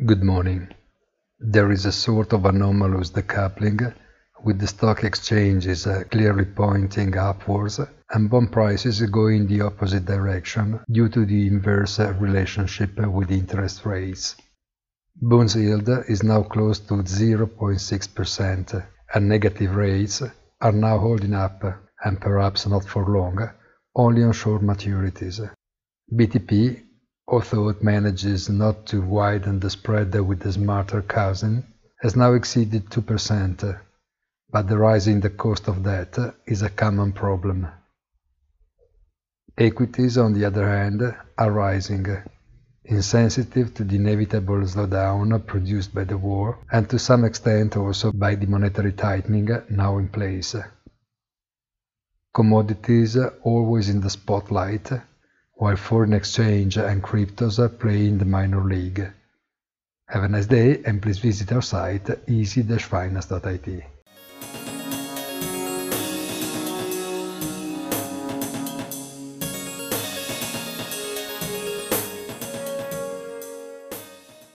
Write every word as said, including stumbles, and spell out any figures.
Good morning. There is a sort of anomalous decoupling, with the stock exchanges uh, clearly pointing upwards and bond prices going the opposite direction due to the inverse uh, relationship with interest rates. Bond yield is now close to zero point six percent, and negative rates are now holding up, and perhaps not for long, only on short maturities. B T P, although it manages not to widen the spread with the smarter cousin, has now exceeded two percent, but the rise in the cost of debt is a common problem. Equities, on the other hand, are rising, insensitive to the inevitable slowdown produced by the war, and to some extent also by the monetary tightening now in place. Commodities always in the spotlight, while foreign exchange and cryptos play in the minor league. Have a nice day, and please visit our site easy dash finance dot I T.